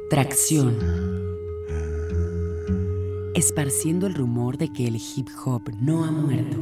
Tracción. Esparciendo el rumor de que el hip hop no ha muerto.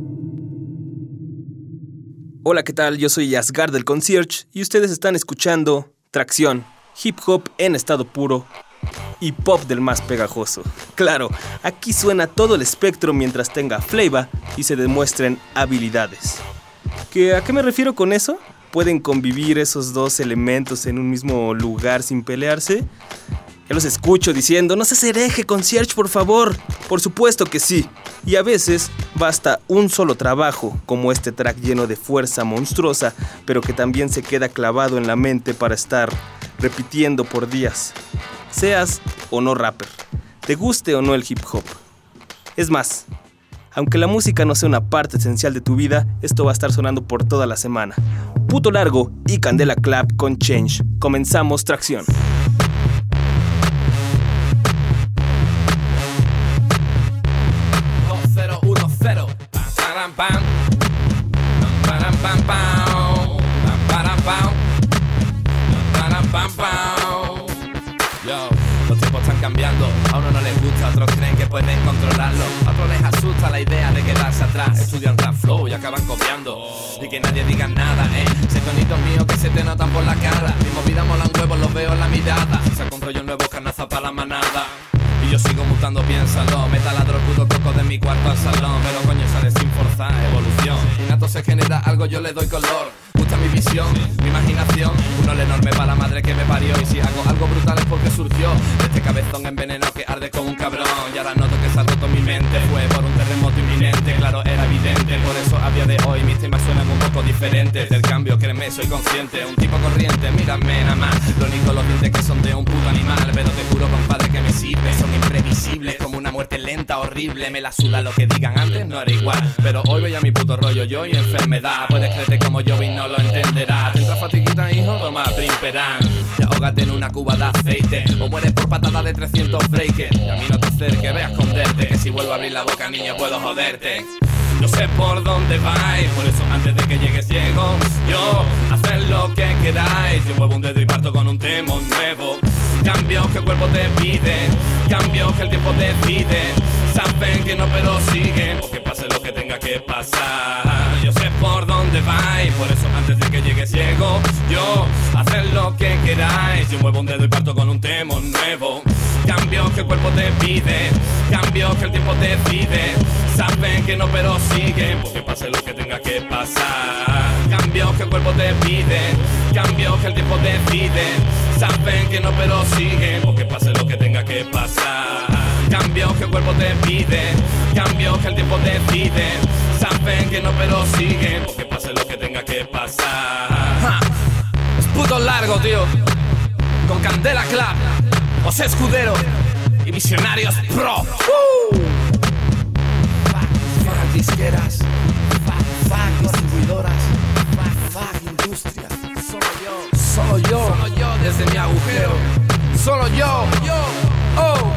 Hola, ¿qué tal? Yo soy Asgard del Concierge y ustedes están escuchando Tracción, hip hop en estado puro y pop del más pegajoso. Claro, aquí suena todo el espectro mientras tenga flavor y se demuestren habilidades. ¿A qué me refiero con eso? ¿Pueden convivir esos dos elementos en un mismo lugar sin pelearse? Ya los escucho diciendo, no seas hereje, Concierge, por favor. Por supuesto que sí. Y a veces basta un solo trabajo, como este track lleno de fuerza monstruosa, pero que también se queda clavado en la mente para estar repitiendo por días. Seas o no rapper, te guste o no el hip hop. Es más, aunque la música no sea una parte esencial de tu vida, esto va a estar sonando por toda la semana. Puto Largo y Candela Clap con Change. Comenzamos Tracción. Los tiempos están cambiando, a uno no les gusta, a otros creen que pueden controlarlo, a otros les asusta la idea de quedarse atrás. Estudian rap flow y acaban copiando, y que nadie diga nada, Ese tonito mío que se te notan por la cara, mi movida molan huevos, los veo en la mirada. Saco un rollo nuevo, carnaza para la manada, y yo sigo mutando, piénsalo. Me taladro el puto coco de mi cuarto al salón, pero coño sale sin forzar, evolución. Innato se genera algo, yo le doy color. Gusta mi visión, mi imaginación, un ole enorme para la madre que me parió. Y si hago algo brutal es porque surgió de este cabezón envenenado que arde como un cabrón. Y ahora noto que se ha roto mi mente, fue por un terremoto inminente, claro, era evidente. Por eso a día de hoy mis temas suenan un poco diferentes. Del cambio, créeme, soy consciente, un tipo corriente, mírame nada más. Lo único los dientes que son de un puto animal, pero te juro, compadre, que me sirve. Son imprevisibles, como una muerte lenta, horrible. Me la suda lo que digan antes, no era igual, pero hoy voy a mi puto rollo, yo y enfermedad. Puedes creerte como yo y no lo entenderás. Te entra fatiguita, hijo, toma Primperán. Y ahógate en una cuba de aceite, o mueres por patada de 300 breakers. Y a mí no te acerques, ve a esconderte, que si vuelvo a abrir la boca, niño, puedo joderte. No sé por dónde vais, por eso antes de que llegues llego yo. Haced lo que queráis, yo muevo un dedo y parto con un tema nuevo. Cambios que el cuerpo te pide, cambios que el tiempo decide. Saben que no pero siguen, porque pase lo que tenga que pasar. Yo sé por dónde vais, por eso antes de que llegues llego yo. Haced lo que queráis, yo muevo un dedo y parto con un tema nuevo. Cambios que el cuerpo te pide, cambios que el tiempo decide. Saben que no pero siguen, porque pase lo que tenga que pasar. Cambios que el cuerpo te pide, cambios que el tiempo decide. Saben que no pero siguen, porque pase lo que tenga que pasar. Cambios que el cuerpo te pide, cambios que el tiempo decide. Saben que no pero siguen, porque pase lo que tenga que pasar. Es puto largo, tío. Con Candela Clap, José Escudero y Visionarios Pro. Fuck disqueras, fuck distribuidoras, fuck industria. Solo yo, desde mi agujero. Solo yo, oh.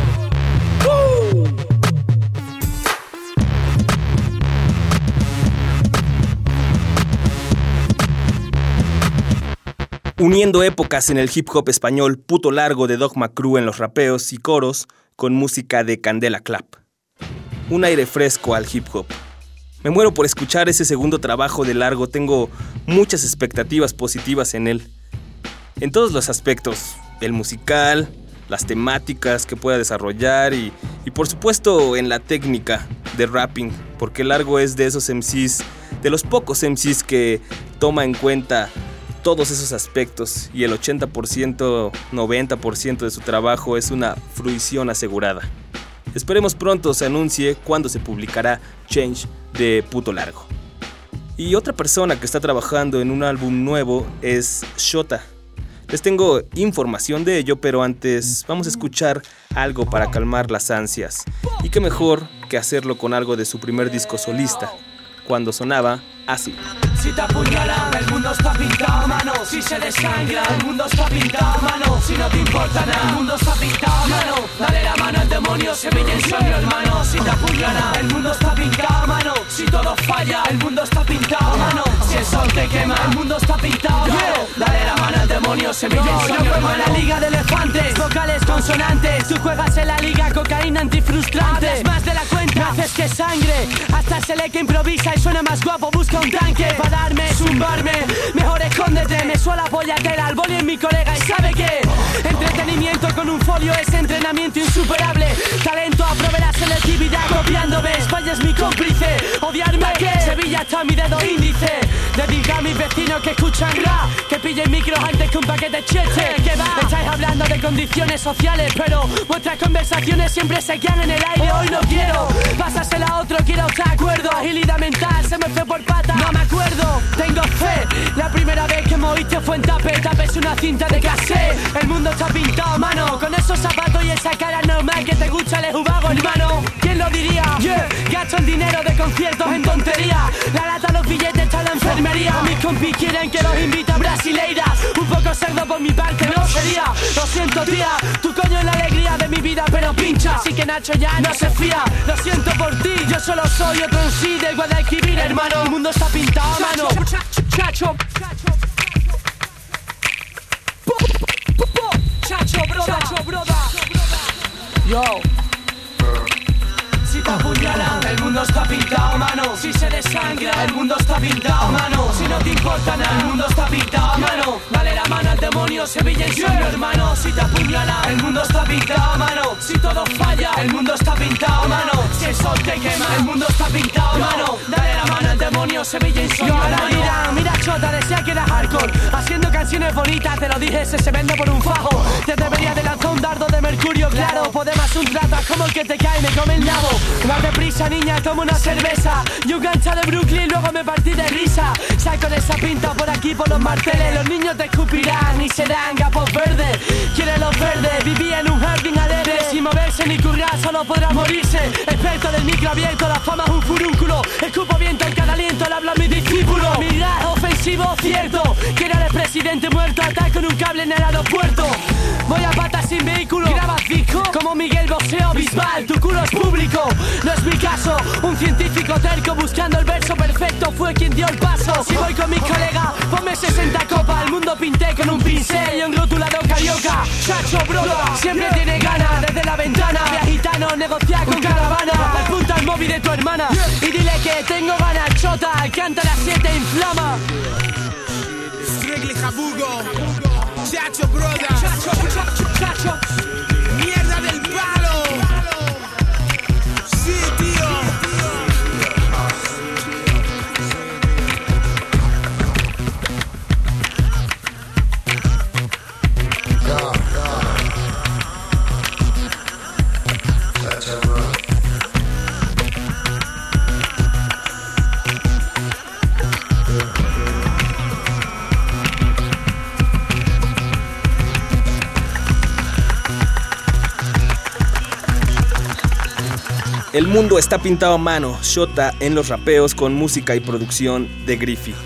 Uniendo épocas en el hip hop español, Puto Largo de Dogma Crew en los rapeos y coros, con música de Candela Clap. Un aire fresco al hip hop. Me muero por escuchar ese segundo trabajo de Largo, tengo muchas expectativas positivas en él. En todos los aspectos, el musical, las temáticas que pueda desarrollar y por supuesto en la técnica de rapping, porque Largo es de esos MCs, de los pocos MCs que toma en cuenta todos esos aspectos y el 80%, 90% de su trabajo es una fruición asegurada. Esperemos pronto se anuncie cuándo se publicará Change de Puto Largo. Y otra persona que está trabajando en un álbum nuevo es Shota. Les tengo información de ello, pero antes vamos a escuchar algo para calmar las ansias. Y qué mejor que hacerlo con algo de su primer disco solista, cuando sonaba así. Si te apuñalan, el mundo está pintado a mano. Si se desangra, el mundo está pintado a mano. Si no te importa nada, el mundo está pintado a mano. Dale la mano al demonio, semilla en sueño, hermano. Si te apuñalan, el mundo está pintado a mano. Si todo falla, el mundo está pintado a mano. Si el sol te quema, el mundo está pintado a mano. Dale la mano al demonio. demonios se me yo juego en la liga de elefantes, vocales consonantes. Tú juegas en la liga cocaína antifrustrante. Hablas más de la cuenta, haces que sangre. Hasta se lee que improvisa y suena más guapo, busca un tanque. Para darme, zumbarme, mejor escóndete. Me suela pollatera, al boli en mi colega y sabe que entretenimiento con un folio es entrenamiento insuperable. Talento, aprove la selectividad copiándome. España es mi cómplice, odiarme que Sevilla está mi dedo índice. Dedica a mis vecinos que escuchan rap, que pillen micros antes que un paquete chete. ¿Qué va? Estáis hablando de condiciones sociales, pero vuestras conversaciones siempre se quedan en el aire. Hoy no quiero pasásela a otro, quiero estar de acuerdo. Agilidad mental, se me fue por pata, no me acuerdo. Tengo fe, la primera vez que me oíste fue en Tape. Tape es una cinta de cassette. El mundo está pintado a mano, con esos zapatos y esa cara normal que te gusta el jugago, hermano. ¿Quién lo diría? Yeah. Gasto el dinero de conciertos en tontería. La lata, los billetes, está en la enfermería. Mis compis quieren que los invite a brasileiras. Un poco cerdo por mi parte no sería. Lo siento, tía, tu coño es la alegría de mi vida, pero pincha. Así que Nacho ya no se fía. Lo siento por ti, yo solo soy otro en sí del Guadalquivir, hermano. El mundo está pintado a mano. Chacho, broda. Yo. Si te apuñalan, el mundo está pintado a mano. Si se desangra, el mundo está pintado a mano. Si no te importa nada, el mundo está pintado a mano. Dale la mano al demonio, Sevilla y sueño, hermano. Si te apuñalan, el mundo está pintado a mano. Si todo falla, el mundo está pintado a mano. Si el sol te quema, el mundo está pintado a mano. Dale la mano al demonio, Sevilla y sueño, hermano. Mira Chota, decía que era hardcore, haciendo canciones bonitas, te lo dije, ese se vende por un fajo. Te debería de lanzar un dardo de mercurio, claro. Podemos un trato como el que te cae, me come el nabo. Date prisa, niña, toma una cerveza y un gancho de Brooklyn, luego me partí de risa. Sal con esa pinta por aquí, por los marteles. Los niños te escupirán y serán gapos verdes. Quiere los verdes, vivía en un jardín alegre. Sin moverse ni currar, solo podrá morirse. Experto del micro abierto, la fama es un furúnculo. Escupo viento en cada aliento, le hablo a mi discípulo. Mirar ofensivo, cierto. Quiere el presidente muerto, ataco en un cable en el aeropuerto. Voy a patas sin vehículo. Grabas disco como Miguel Bosé o Bisbal. Tu culo es público, no es mi caso. Un científico terco buscando el verso perfecto fue quien dio el paso. Si voy con mis colegas, ponme 60 copas. El mundo pinté con un pincel y un rotulador carioca. Chacho, broda, siempre tiene ganas. Desde la ventana, de gitano, negociar con caravana. Apunta al móvil de tu hermana y dile que tengo ganas, Chota. Canta a las 7, inflama. Strictly Jabugo, Chacho, broda. Chacho. Mierda del palo. Sí, tío. El mundo está pintado a mano, Shota en los rapeos con música y producción de Griffy.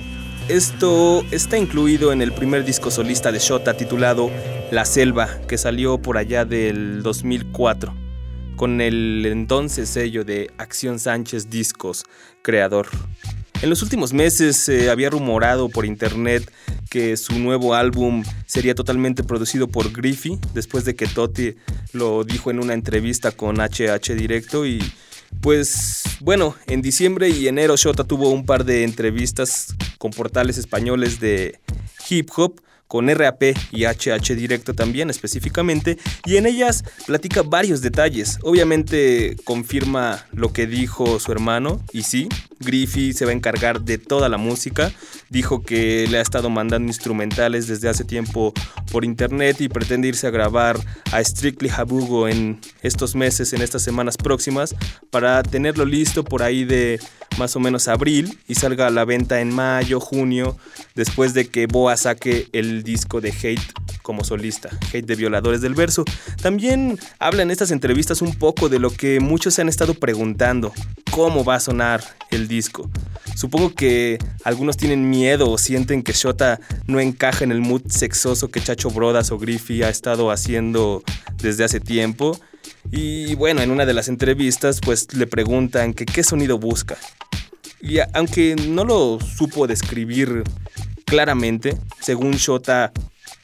Esto está incluido en el primer disco solista de Shota titulado La Selva, que salió por allá del 2004, con el entonces sello de Acción Sánchez Discos, creador. En los últimos meses se había rumorado por internet que su nuevo álbum sería totalmente producido por Griffy, después de que Totti lo dijo en una entrevista con HH Directo. Y pues bueno, en diciembre y enero Shota tuvo un par de entrevistas con portales españoles de hip hop, con RAP y HH Directo también específicamente, y en ellas platica varios detalles. Obviamente confirma lo que dijo su hermano, y sí, Griffy se va a encargar de toda la música. Dijo que le ha estado mandando instrumentales desde hace tiempo por internet y pretende irse a grabar a Strictly Jabugo en estos meses, en estas semanas próximas, para tenerlo listo por ahí de más o menos abril y salga a la venta en mayo, junio, después de que Boa saque el disco de Hate como solista, Hate de Violadores del Verso. También habla en estas entrevistas un poco de lo que muchos se han estado preguntando: ¿cómo va a sonar el disco? Supongo que algunos tienen miedo o sienten que Shota no encaja en el mood sexoso que Chacho Brodas o Griffy ha estado haciendo desde hace tiempo. Y bueno, en una de las entrevistas pues le preguntan que qué sonido busca. Y aunque no lo supo describir claramente, según Shota,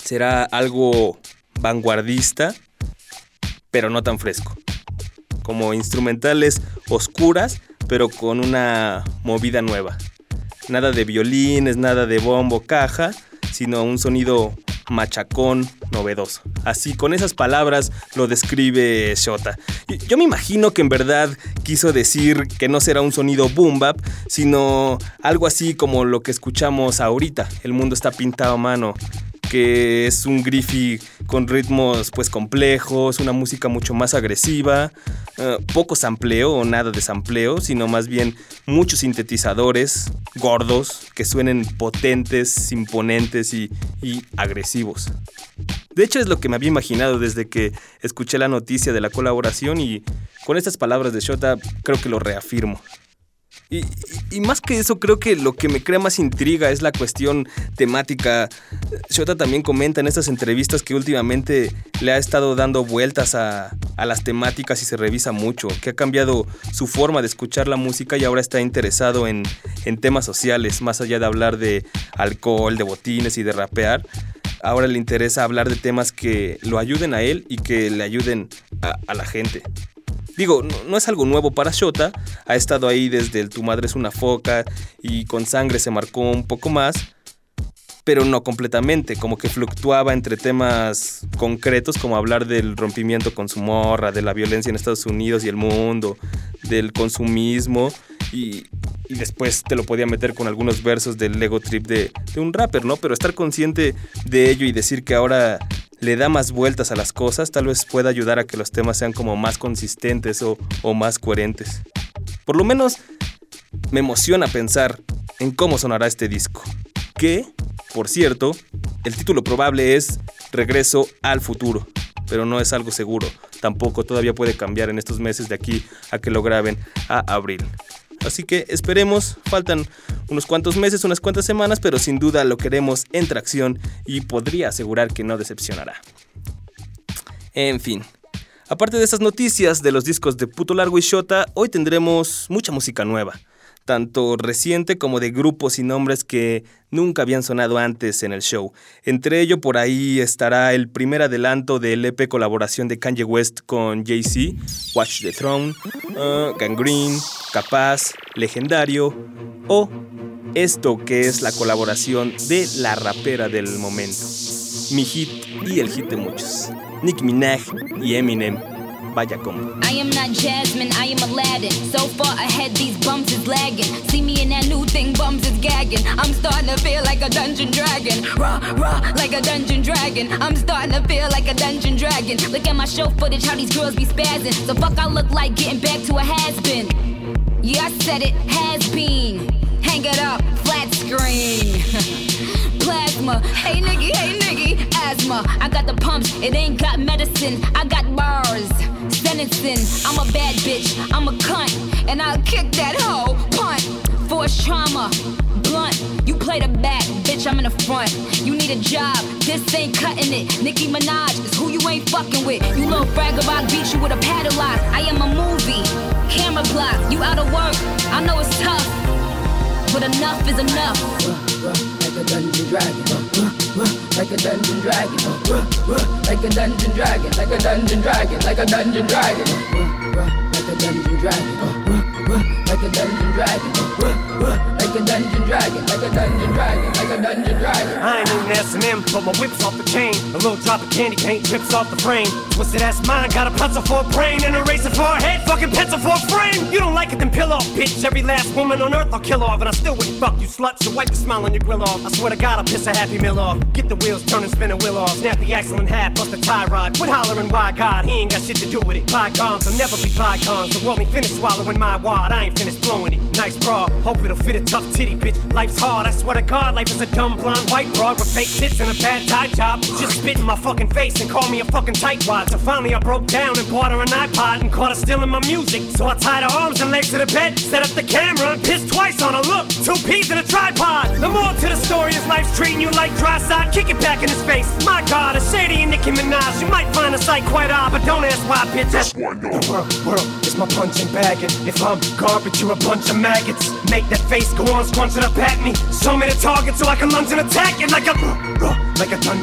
Será algo vanguardista, pero no tan fresco. Como instrumentales oscuras, pero con una movida nueva. Nada de violines, nada de bombo, caja, sino un sonido machacón, novedoso. Así, con esas palabras lo describe Xota. Yo me imagino que en verdad quiso decir que no será un sonido boom bap, sino algo así como lo que escuchamos ahorita. El mundo está pintado a mano, que es un Griffy con ritmos pues complejos, una música mucho más agresiva, poco sampleo o nada de sampleo, sino más bien muchos sintetizadores gordos que suenen potentes, imponentes y agresivos. De hecho es lo que me había imaginado desde que escuché la noticia de la colaboración y con estas palabras de Xota creo que lo reafirmo. Y más que eso, creo que lo que me crea más intriga es la cuestión temática. Xota también comenta en estas entrevistas que últimamente le ha estado dando vueltas a las temáticas y se revisa mucho, que ha cambiado su forma de escuchar la música y ahora está interesado en temas sociales, más allá de hablar de alcohol, de botines y de rapear. Ahora le interesa hablar de temas que lo ayuden a él y que le ayuden a la gente. Digo, no es algo nuevo para Xota, ha estado ahí desde el Tu madre es una foca y Con sangre se marcó un poco más, pero no completamente, como que fluctuaba entre temas concretos como hablar del rompimiento con su morra, de la violencia en Estados Unidos y el mundo, del consumismo y después te lo podía meter con algunos versos del ego trip de un rapper, ¿no? Pero estar consciente de ello y decir que ahora le da más vueltas a las cosas, tal vez pueda ayudar a que los temas sean como más consistentes o más coherentes. Por lo menos me emociona pensar en cómo sonará este disco. Que, por cierto, el título probable es Regreso al futuro, pero no es algo seguro. Tampoco todavía puede cambiar en estos meses de aquí a que lo graben a abril. Así que esperemos, faltan unos cuantos meses, unas cuantas semanas, pero sin duda lo queremos en tracción y podría asegurar que no decepcionará. En fin, aparte de estas noticias de los discos de Puto Largo y Xota, hoy tendremos mucha música nueva, tanto reciente como de grupos y nombres que nunca habían sonado antes en el show. Entre ello, por ahí estará el primer adelanto del EP colaboración de Kanye West con Jay-Z, Watch the Throne, Gangrene, Capaz, Legendario, o esto que es la colaboración de la rapera del momento, mi hit y el hit de muchos, Nicki Minaj y Eminem. Vaya combo. I am not Jasmine, I am Aladdin. So far ahead, these bums is lagging. See me in that new thing, bums is gagging. I'm starting to feel like a dungeon dragon. Rah, rah, like a dungeon dragon. I'm starting to feel like a dungeon dragon. Look at my show footage, how these girls be spazzing. So fuck I look like getting back to a has-been. Yeah, I said it, has been. Hang it up, flat screen. Plasma, hey nigga, asthma. I got the pumps, it ain't got medicine. I got bars, sentencing. I'm a bad bitch, I'm a cunt, and I'll kick that hoe, punt. Force trauma, blunt. You play the back, bitch, I'm in the front. You need a job, this ain't cutting it. Nicki Minaj is who you ain't fucking with. You little fragabot, beat you with a padlock. I am a movie, camera block. You out of work, I know it's tough, but enough is enough. Like a dungeon dragon, like a dungeon dragon, like a dungeon dragon, like a dungeon dragon, like a dungeon dragon, like a dungeon dragon, like a dungeon dragon, like a dungeon dragon, like a dungeon dragon, like a dungeon dragon. I ain't even S&M, but my whip's off the chain. A little drop of candy paint drips off the frame. Twisted ass mind, got a pencil for a brain and a razor for a head, fucking pencil for a frame. You don't like it, then pill off, bitch. Every last woman on earth I'll kill off, and I still wouldn't fuck you sluts. So wipe the smile on your grill off. I swear to God I'll piss a Happy Meal off. Get the wheels turning, spin a wheel off. Snap the axle in half, bust the tie rod. Quit hollering, why God, he ain't got shit to do with it. Bygones will never be bygones. So want me finish swallowing my wad, I ain't finished blowing it. Nice bra, hope it'll fit a tough titty, bitch. Life's hard, I swear to God, life is a dumb blonde white broad with fake tits and a bad tie job. Just spit in my fucking face and call me a fucking tightwad. So finally I broke down and bought her an iPod and caught her stealing my music. So I tied her arms and legs to the bed, set up the camera and pissed twice on her. Look, 2 peas in a tripod. The more to the story is life's treating you like dry side. Kick it back in his face. My God, a shady and Nicki Minaj. You might find the sight quite odd, but don't ask why, bitch. That's why no. The world is my punching bag, and if I'm garbage, you're a bunch of maggots. Make that face go on, scrunching up at me. Show me the target so I can lunge and attack it like a dungeon dragon.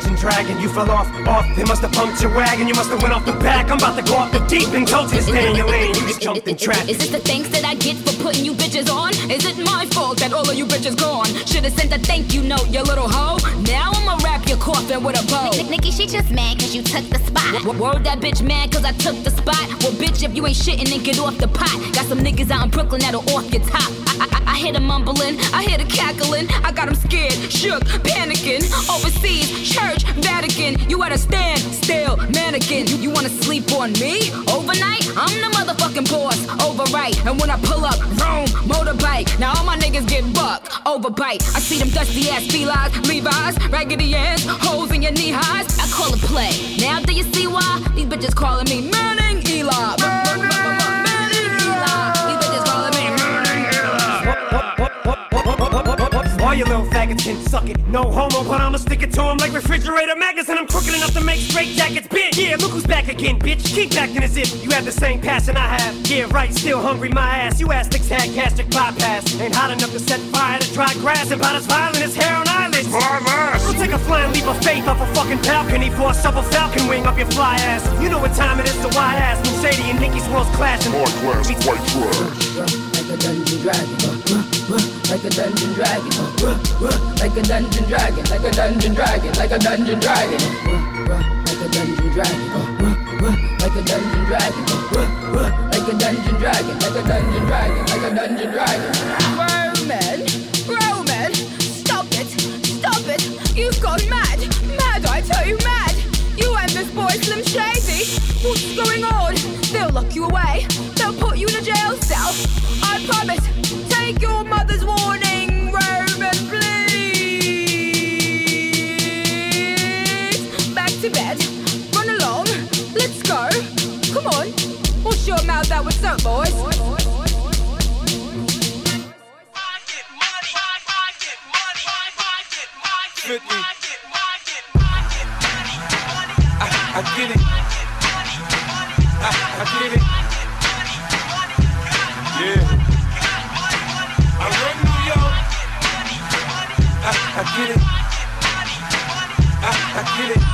and you fell off. They must have pumped your wagon, you must have went off the back. I'm about to go off the deep and told you to stay in your lane. You just jumped in traffic. Is this the thanks that I get for putting you bitches on? Is it my fault that all of you bitches gone? Should've sent a thank you note, you little hoe. Now I'ma wrap your coffin with a bow. Nikki, she just mad cause you took the spot. Word that bitch mad cause I took the spot. Well bitch, if you ain't shitting then get off the pot. Got some niggas out in Brooklyn that'll off your top. I hear the mumbling, I hear the cackling. I got them scared, shook, panicking. Overseas, church, Vatican. You at a stand, still, mannequin. You wanna sleep on me? Overnight? I'm the motherfucking boss, overright. And when I pull up, vroom, motorbike. Now all my niggas get bucked, overbite. I see them dusty ass felines, Levi's, raggedy ass, holes in your knee highs. I call it play. Now do you see why? These bitches calling me Manning Eli. Manning Eli. These bitches calling me Manning Eli. All you little faggots can suck it. No homo, but I'ma stick it to them like refrigerator magnets. And I'm crooked enough to make straight jackets big. Yeah, look who's back again, bitch. Keep acting as if you have the same passion I have. Yeah, right, still hungry, my ass. You ass had gastric bypass. Ain't hot enough to set fire to dry grass. And about as violent as hair on eyelids. Go take a flying leap of faith off a fucking balcony for a supple falcon wing up your fly ass. You know what time it is, so why ass? When Sadie and Nikki's worlds clashing. High class, white trash. Like a dungeon dragon, like a dungeon dragon, like a dungeon dragon, like a dungeon dragon, like a dungeon dragon, like a dungeon dragon, like a dungeon dragon, like a dungeon dragon, like a dungeon dragon, like a dungeon dragon. Roman, stop it, you've gone mad, I tell you mad. You and this boy Slim Shady, what's going on? They'll lock you away, they'll put you in a jail cell. I promise, take your mother's warning, Roman, please. Back to bed, run along, let's go. Come on, wash your mouth out with soap, boys. I get it. I get it. Yeah. I run New York. I get it. I get it.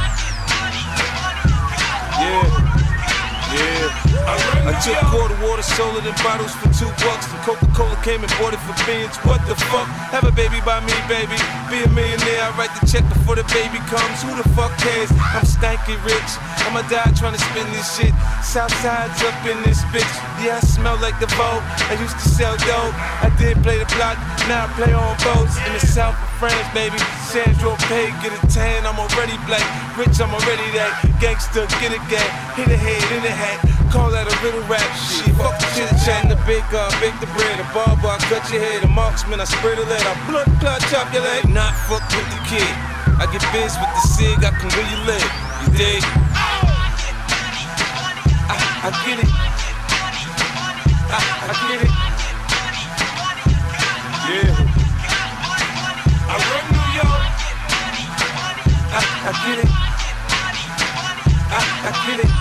Yeah. I took quarter water, sold it in bottles for $2. And Coca-Cola came and bought it for beans. What the fuck? Have a baby by me, baby. Be a millionaire, I write the check before the baby comes. Who the fuck cares? I'm stanky rich. I'ma die trying to spin this shit. Southside's up in this bitch. Yeah, I smell like the Vogue. I used to sell dope. I did play the block, now I play on boats. In the south of France, baby. Sandro Pay, get a tan, I'm already black. Rich, I'm already that. Gangster, get a gang. Hit a head in a hat. Call that a riddle rap. Shit, fuck the chit chat. The baker, bake the bread. The barber, I cut your head. The marksman, I spray the lead. I blood clot, chop your leg. Not fuck with the kid. I get biz with the cig, I can where you live. You dig? I get it. I get it. Yeah. I run New York. I get it. I get it.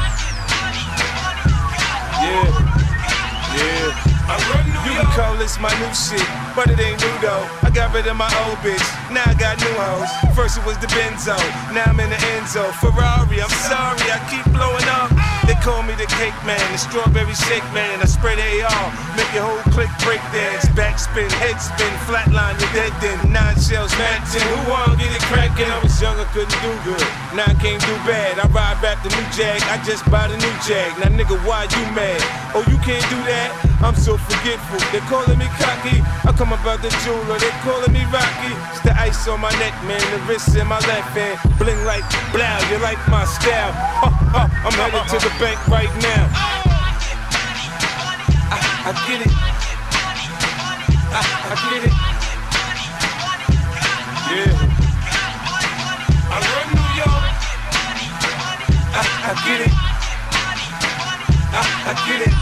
Yeah. I run New York. You can call this my new shit, but it ain't new though. I got rid of my old bitch, now I got new hoes. First it was the Benzo, now I'm in the Enzo. Ferrari, I'm sorry, I keep blowing up. They call me the cake man, the strawberry shake man. I spray the AR, make your whole clique break dance. Backspin, head spin, flatline, you're dead then. 9 shells, Mac 10, who wanna get it crackin'? I was young, I couldn't do good, now I can't do bad. I ride back the new Jag, I just bought a new Jag. Now nigga, why you mad? Oh, you can't do that? I'm so forgetful, they calling me cocky. I come about the jeweler, they calling me Rocky. It's the ice on my neck, man, the wrist in my left hand. Bling like blow, you like my style. I'm headed to the bank right now. I get it. I get it. Yeah. I run New York. I get it. I get it.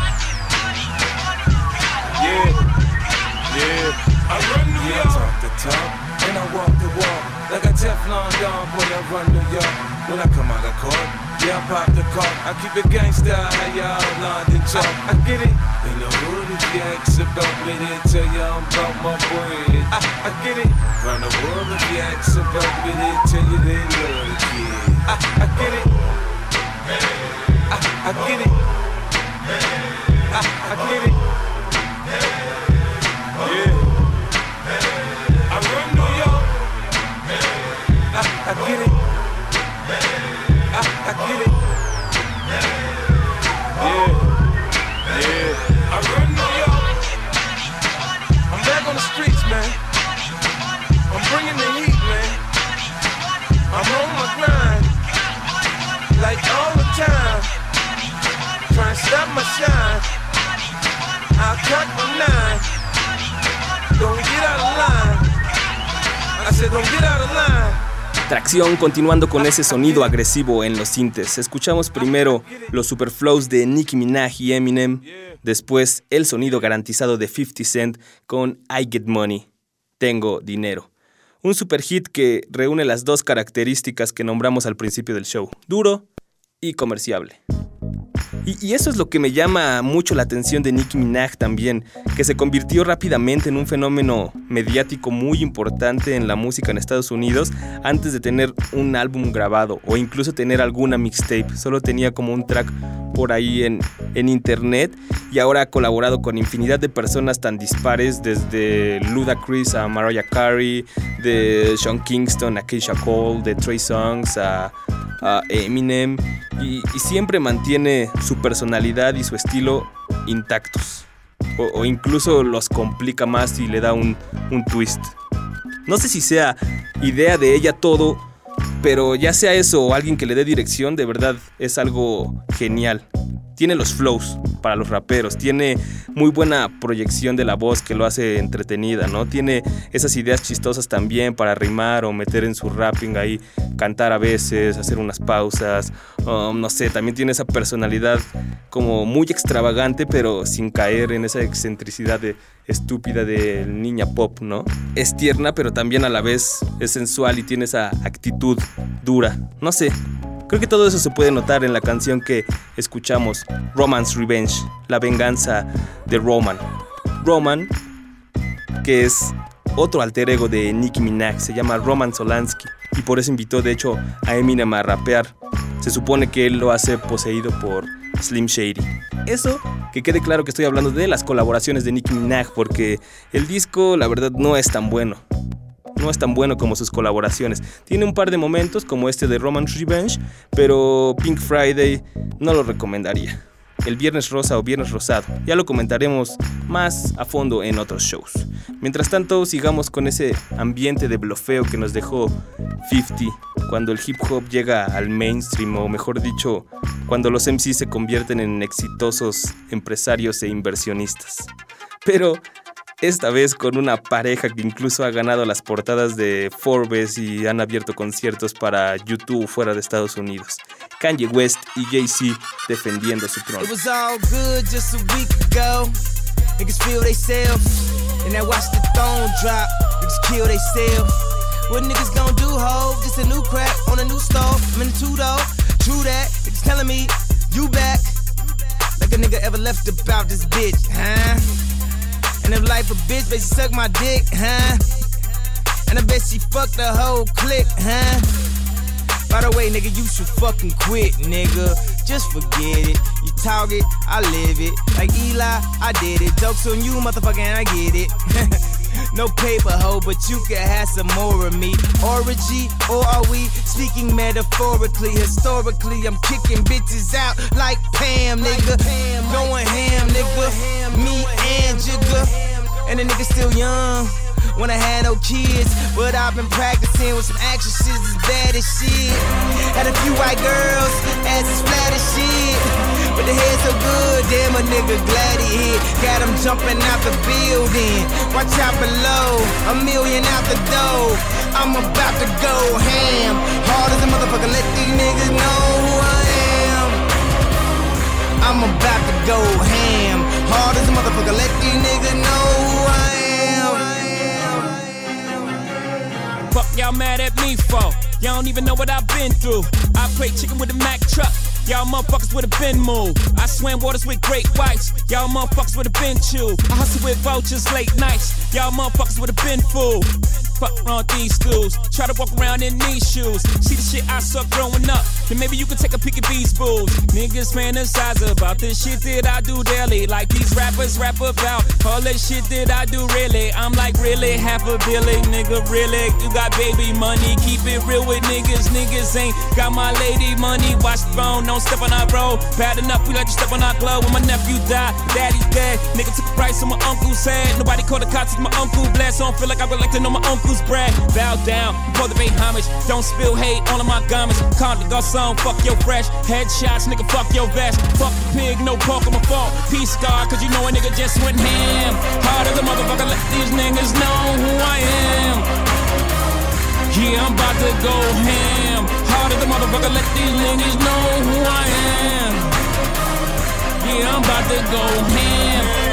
Yeah. I run New York. I talk the talk and I walk the walk. Like a Teflon Don, boy, I run New York. When I come out of court, yeah, I pop the cork. I keep it gangsta, how y'all London talk. I get it. In the hood, if you ask about me, they tell you I'm about my bread. I get it. Round the world, if you ask about me, they tell you they love the kid. get it. I get it. Yeah. I run New York. I'm back on the streets, man. I'm bringing the heat, man. I'm on my grind, like all the time. Trying to stop my shine. I'll cut my nine. Don't get out of line. I said don't get out of line. Tracción, continuando con ese sonido agresivo en los sintes. Escuchamos primero los superflows de Nicki Minaj y Eminem, después el sonido garantizado de 50 Cent con I Get Money, Tengo Dinero. Un super hit que reúne las dos características que nombramos al principio del show, duro y comerciable. Y eso es lo que me llama mucho la atención de Nicki Minaj también, que se convirtió rápidamente en un fenómeno mediático muy importante en la música en Estados Unidos antes de tener un álbum grabado o incluso tener alguna mixtape. Solo tenía como un track por ahí en internet y ahora ha colaborado con infinidad de personas tan dispares, desde Ludacris a Mariah Carey, de Sean Kingston a Keisha Cole, de Trey Songz a Eminem, y siempre mantiene su personalidad y su estilo intactos, o incluso los complica más y le da un twist. No sé si sea idea de ella todo, pero ya sea eso o alguien que le dé dirección, de verdad es algo genial. Tiene los flows para los raperos, tiene muy buena proyección de la voz que lo hace entretenida, ¿no? Tiene esas ideas chistosas también para rimar o meter en su rapping ahí, cantar a veces, hacer unas pausas, no sé, también tiene esa personalidad como muy extravagante pero sin caer en esa excentricidad estúpida de niña pop, ¿no? Es tierna pero también a la vez es sensual y tiene esa actitud dura, no sé. Creo que todo eso se puede notar en la canción que escuchamos, Roman's Revenge, la venganza de Roman. Roman, que es otro alter ego de Nicki Minaj, se llama Roman Solansky y por eso invitó de hecho a Eminem a rapear. Se supone que él lo hace poseído por Slim Shady. Eso, que quede claro que estoy hablando de las colaboraciones de Nicki Minaj, porque el disco la verdad no es tan bueno. No es tan bueno como sus colaboraciones. Tiene un par de momentos como este de Roman's Revenge, pero Pink Friday no lo recomendaría. El Viernes Rosa o Viernes Rosado, ya lo comentaremos más a fondo en otros shows. Mientras tanto, sigamos con ese ambiente de blofeo que nos dejó 50 cuando el hip hop llega al mainstream, o mejor dicho, cuando los MCs se convierten en exitosos empresarios e inversionistas. Pero esta vez con una pareja que incluso ha ganado las portadas de Forbes y han abierto conciertos para YouTube fuera de Estados Unidos. Kanye West y Jay-Z defendiendo su trono. It was all good just a week ago. Niggas feel they self. And I watch the throne drop. Niggas kill they self. What niggas gon' do, ho? Just a new crack on a new stove. I'm in the two-door. True that. Niggas telling me, you back. Like a nigga ever left about this bitch, huh? And if life a bitch, bet she suck my dick, huh? And I bet she fucked the whole clique, huh? By the way, nigga, you should fucking quit, nigga. Just forget it. You talk it, I live it. Like Eli, I did it. Jokes on you, motherfucker, and I get it. No paper, ho, but you can have some more of me. Orgy, or are we speaking metaphorically? Historically, I'm kicking bitches out like Pam, nigga. Going ham, nigga. Me and Jigga. And the nigga still young. When I had no kids, but I've been practicing with some actresses as bad as shit. Had a few white girls, ass as flat as shit. But the head so good, damn a nigga glad he hit. Got him jumping out the building. Watch out below, $1 million out the door. I'm about to go ham. Hard as a motherfucker, let these niggas know who I am. I'm about to go ham. Hard as a motherfucker, let these niggas know who I am. Fuck y'all mad at me for? Y'all don't even know what I've been through. I played chicken with a Mack truck. Y'all motherfuckers would've been moved. I swam waters with great whites. Y'all motherfuckers would've been chewed. I hustle with vultures late nights. Y'all motherfuckers would've been fooled. fuck around these schools. Try to walk around in these shoes. See the shit I suck growing up. Then maybe you can take a peek at these fools. Niggas fantasize about the shit that I do daily. Like these rappers rap about all the shit that I do really. I'm like really half a billion, nigga, really. You got baby money, keep it real with niggas. Niggas ain't got my lady money. Watch the phone, don't step on our road. Bad enough, we let you step on our glove. When my nephew died, daddy's dead. Nigga took a price on my uncle's head. Nobody called the cops, my uncle blessed. So I don't feel like I would like to know my uncle's bread. Bow down, before the pay homage. Don't spill hate all of my garments. Calm the garçon, fuck your fresh. Headshots, nigga, fuck your vest. Fuck the pig, no pork on my fault. Peace star, cause you know a nigga just went ham. Hard as a motherfucker, let these niggas know who I am. Yeah, I'm about to go ham. Hard as a motherfucker, let these niggas know who I am. Yeah, I'm about to go ham.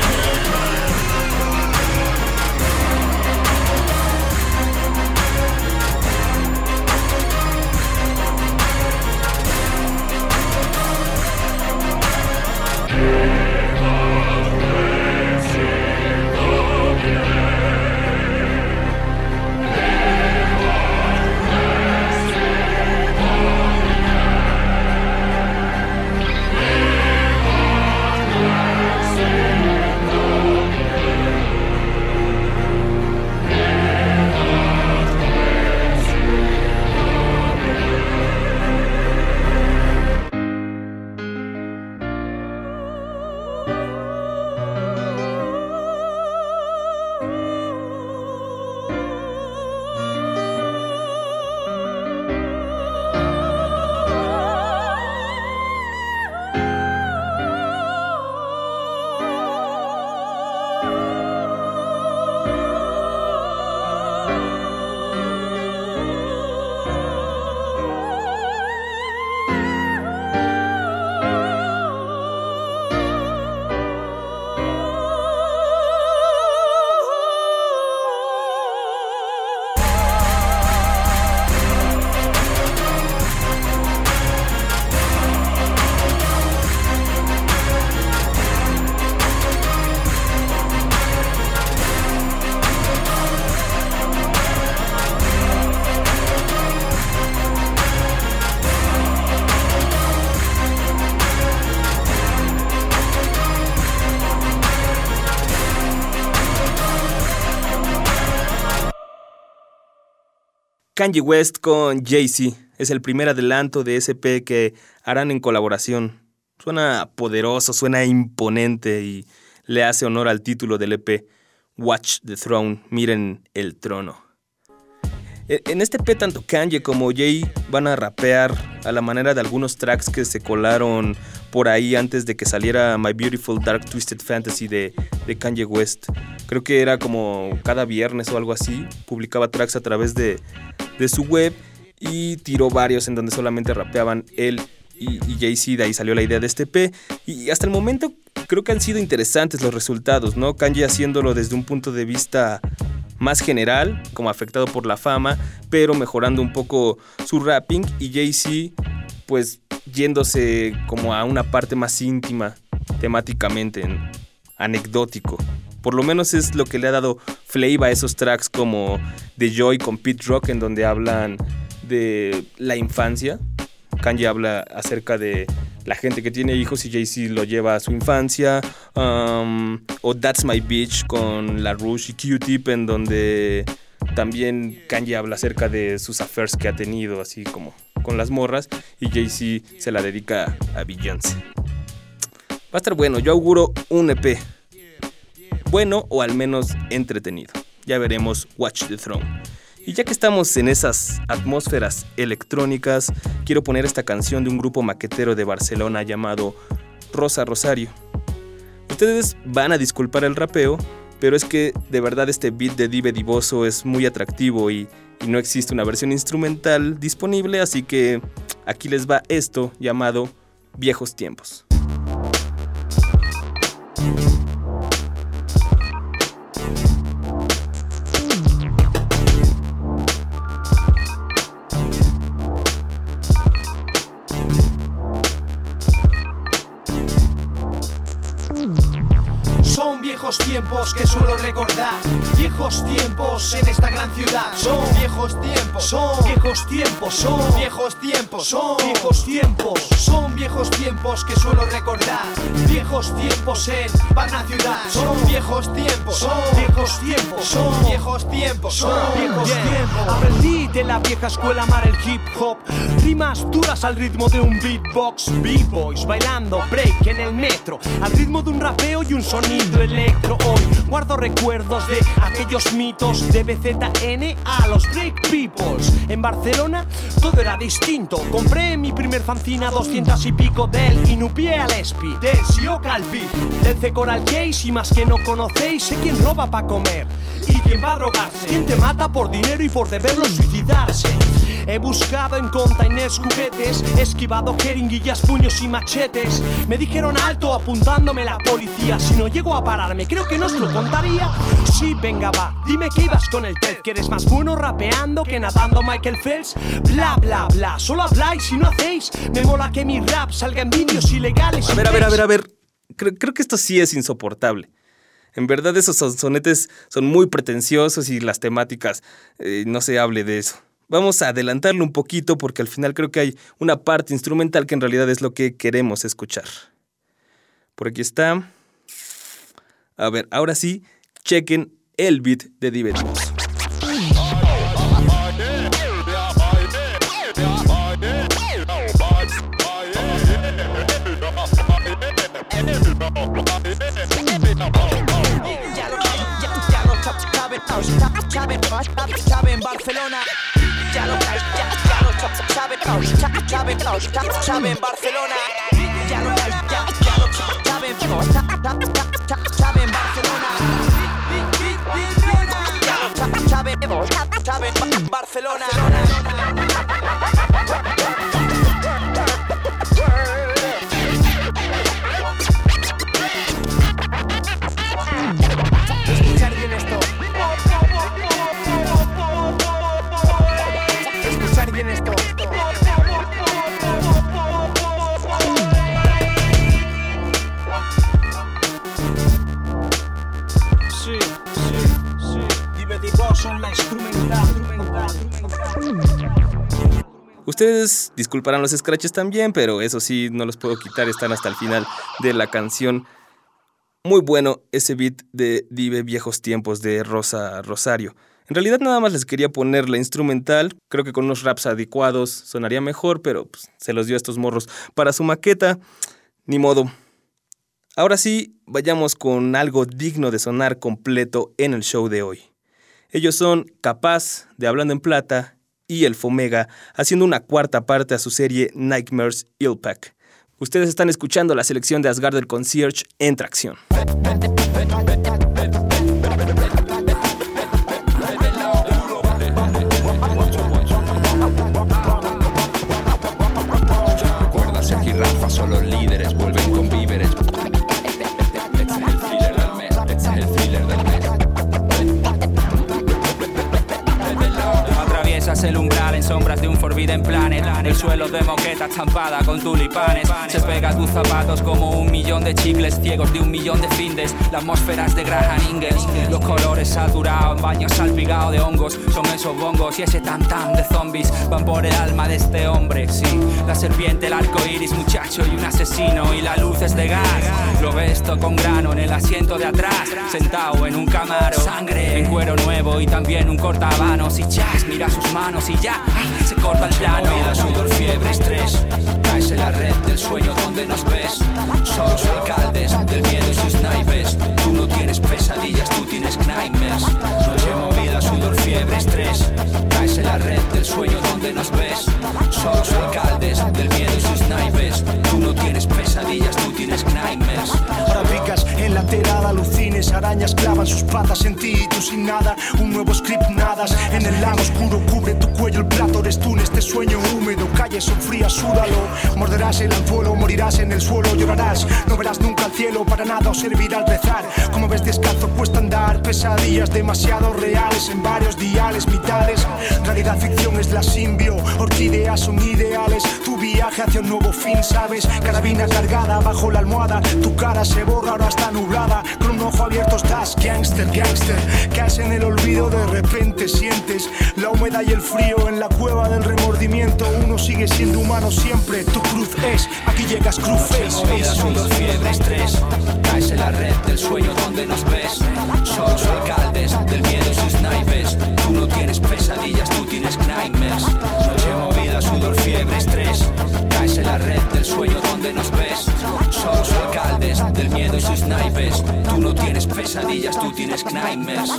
Kanye West con Jay-Z es el primer adelanto de ese EP que harán en colaboración. Suena poderoso, suena imponente y le hace honor al título del EP, Watch the Throne, miren el trono. En este EP tanto Kanye como Jay van a rapear a la manera de algunos tracks que se colaron por ahí antes de que saliera My Beautiful Dark Twisted Fantasy de Kanye West. Creo que era como cada viernes o algo así, publicaba tracks a través de su web y tiró varios en donde solamente rapeaban él y Jay-Z. De ahí salió la idea de este EP y hasta el momento creo que han sido interesantes los resultados, ¿no? Kanye haciéndolo desde un punto de vista más general, como afectado por la fama, pero mejorando un poco su rapping, y Jay-Z pues yéndose como a una parte más íntima temáticamente, anecdótico. Por lo menos es lo que le ha dado flavor a esos tracks como The Joy con Pete Rock, en donde hablan de la infancia. Kanye habla acerca de la gente que tiene hijos y Jay-Z lo lleva a su infancia. O That's My Bitch con La Rouge y Q-Tip, en donde también Kanye habla acerca de sus affairs que ha tenido, así como con las morras, y Jay-Z se la dedica a Beyoncé. Va a estar bueno, yo auguro un EP. Bueno, o al menos entretenido. Ya veremos Watch the Throne. Y ya que estamos en esas atmósferas electrónicas, quiero poner esta canción de un grupo maquetero de Barcelona llamado Rosa Rosario. Ustedes van a disculpar el rapeo, pero es que de verdad este beat de Dive Divoso es muy atractivo y no existe una versión instrumental disponible, así que aquí les va esto llamado Viejos Tiempos. viejos tiempos que suelo recordar. Viejos tiempos en esta gran ciudad. Son viejos tiempos, son viejos tiempos, son viejos tiempos, son viejos tiempos, son viejos tiempos que suelo recordar. Viejos tiempos en Varna ciudad. Son viejos tiempos, son viejos tiempos, son viejos tiempos, son viejos tiempos. Aprendí de la vieja escuela a amar el hip hop. Rimas duras al ritmo de un beatbox. B-boys bailando break en el metro al ritmo de un rapeo y un sonido electro. Hoy guardo recuerdos de aquellos mitos de BZN a los break peoples. En Barcelona todo era distinto. Compré mi primer fanzine a 200 y pico del Inupié al Espi, del Sio Calvi, del Cecoral Case. Y más que no conocéis, sé quién roba pa' comer y quién va a drogarse, quién te mata por dinero y por deberlo suicidarse. He buscado en containers juguetes, esquivado jeringuillas, puños y machetes. Me dijeron alto apuntándome la policía. Si no llego a pararme, creo que no os lo contaría. Sí, venga va, dime que ibas con el Ted, que eres más bueno rapeando que nadando Michael Phelps. Bla bla bla, solo habláis y no hacéis. Me mola que mi rap salga en vídeos ilegales. A ver. Creo que esto sí es insoportable. En verdad esos sonetes son muy pretenciosos y las temáticas, no se hable de eso. Vamos a adelantarlo un poquito porque al final creo que hay una parte instrumental que en realidad es lo que queremos escuchar. Por aquí está. A ver, ahora sí, chequen el beat de Dive Divos. Saben Barcelona. Ya lo saben Barcelona. Ya lo saben Barcelona. Saben Barcelona. Escuchar bien esto. Escuchar bien esto. Sí. Dive Divos son la instrumental. Ustedes disculparán los scratches también, pero eso sí, no los puedo quitar, están hasta el final de la canción. Muy bueno ese beat de Dive Viejos Tiempos de Rosa Rosario. En realidad nada más les quería poner la instrumental. Creo que con unos raps adecuados sonaría mejor, pero pues, se los dio a estos morros para su maqueta. Ni modo. Ahora sí, vayamos con algo digno de sonar completo en el show de hoy. Ellos son Capaz, de Hablando en Plata, y El Fomega, haciendo una cuarta parte a su serie Nightmares Illpack. Ustedes están escuchando la selección de Asgard del Concierge en Tracción. Recuerda, Sergi y Rafa son los líderes, vuelven con víveres. Este es el thriller del mes, este es el thriller del mes. Atraviesas el umbral en sombras de un Forbidden Planet. El suelo de moqueta estampada con tulipanes. Se pega a tus zapatos como 1.000.000 de chicles ciegos de 1.000.000 de findes. Las atmósferas de Graham Ingalls. Los colores saturados en baños salpicados de hongos. Son esos bongos y ese tan de zombies. Van por el alma de este hombre, sí. La serpiente, el arco iris, muchacho y un asesino. Y la luz es de gas. Lo ves todo con grano en el asiento de atrás. Sentado en un camaro. Sangre en cuero nuevo y también un cortabanos. Y chas, mira sus manos y ya se corta el plano. Vida, sudor, fiebre, estrés. Caes en la red del sueño donde nos ves. Somos alcaldes del miedo y sus naipes. Tú no tienes pesadillas, tú tienes nightmares. Noche movida, sudor, fiebre, estrés. Caes en la red del sueño donde nos ves. Somos alcaldes del miedo y sus naipes. Tú no tienes pesadillas, tú tienes nightmares. Ahora picas en la terada, alucines, arañas clavan sus patas en ti y tú sin nada. Un nuevo script nadas en el lago oscuro, cubre tu cuello, el plato eres tú en este sueño húmedo. Calles son frías, súdalo. Morderás el anzuelo, morirás en el suelo, llorarás. No verás nunca el cielo, para nada os servirá al rezar. Como ves descalzo cuesta andar, pesadillas demasiado reales en varios diales, mitades. Realidad ficción es la simbio, orquídeas son ideales. Tu viaje viaje hacia un nuevo fin, ¿sabes? Carabina cargada bajo la almohada, tu cara se borra, ahora está nublada. Con un ojo abierto estás, gangster, gangster. Caes en el olvido, de repente sientes la humedad y el frío en la cueva del remordimiento. Uno sigue siendo humano siempre, tu cruz es, aquí llegas cruzes. Movida, sudor, fiebre, estrés. Caes en la red del sueño donde nos ves. Somos alcaldes del miedo y sus naipes. Tú no tienes pesadillas, tú tienes nightmares. Noche movida, sudor, fiebre, estrés. Caes en la red del sueño donde nos ves. Somos alcaldes del miedo y sus naipes. Tú no tienes pesadillas, tú tienes nightmares.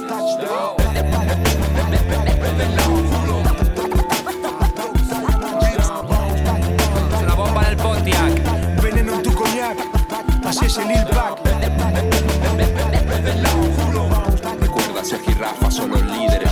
Es una bomba en el Pontiac. Veneno en tu coñac, así es el Lil Pac. Recuerda, Sergi y Rafa son los líderes.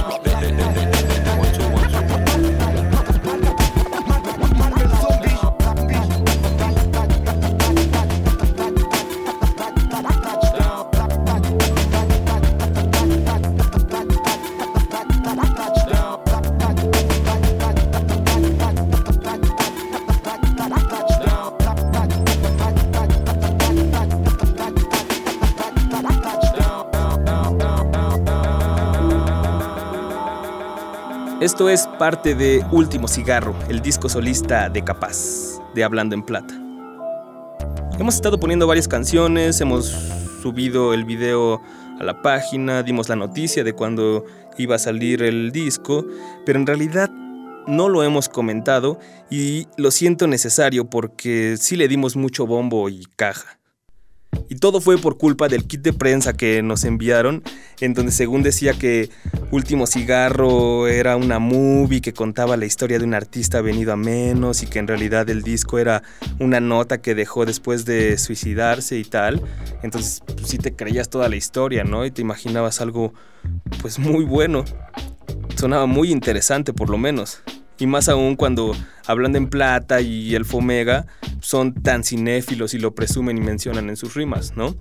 Esto es parte de Último Cigarro, el disco solista de Capaz, de Hablando en Plata. Hemos estado poniendo varias canciones, hemos subido el video a la página, dimos la noticia de cuando iba a salir el disco, pero en realidad no lo hemos comentado y lo siento necesario porque sí le dimos mucho bombo y caja. Y todo fue por culpa del kit de prensa que nos enviaron, en donde según decía que Último Cigarro era una movie que contaba la historia de un artista venido a menos y que en realidad el disco era una nota que dejó después de suicidarse y tal. Entonces pues, sí te creías toda la historia, ¿no? Y te imaginabas algo pues muy bueno. Sonaba muy interesante por lo menos. Y más aún cuando Hablando en Plata y el Fomega son tan cinéfilos y lo presumen y mencionan en sus rimas, ¿no?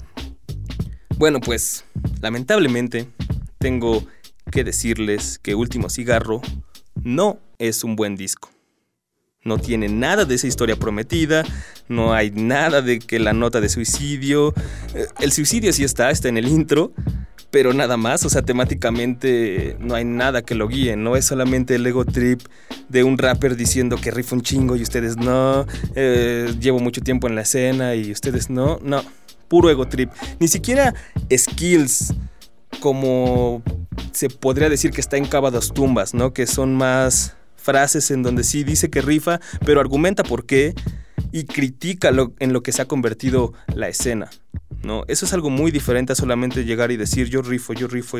Bueno, pues, lamentablemente, tengo que decirles que Último Cigarro no es un buen disco. No tiene nada de esa historia prometida, no hay nada de que la nota de suicidio. El suicidio sí está en el intro, pero nada más, o sea, temáticamente no hay nada que lo guíe, no es solamente el ego trip de un rapper diciendo que rifa un chingo y ustedes no, llevo mucho tiempo en la escena y ustedes no, puro ego trip. Ni siquiera skills como se podría decir que está en Cava Dos Tumbas, ¿no? Que son más frases en donde sí dice que rifa, pero argumenta por qué y critica en lo que se ha convertido la escena, ¿no? Eso es algo muy diferente a solamente llegar y decir yo rifo